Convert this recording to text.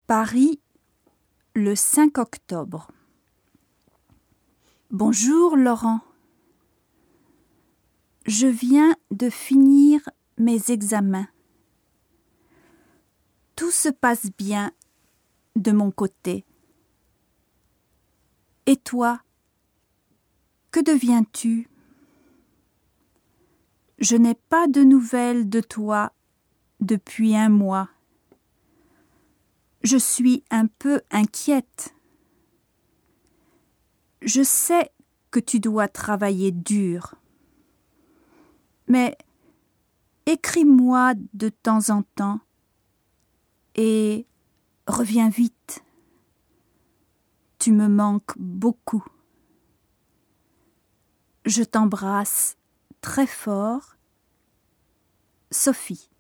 Paris, le 5 octobre. Bonjour Laurent. Je viens de finir mes examens. Tout se passe bien de mon côté. Et toi, que deviens-tu? Je n'ai pas de nouvelles de toi depuis un mois. Je suis un peu inquiète. Je sais que tu dois travailler dur. Mais écris-moi de temps en temps et reviens vite. Tu me manques beaucoup. Je t'embrasse très fort. Sophie.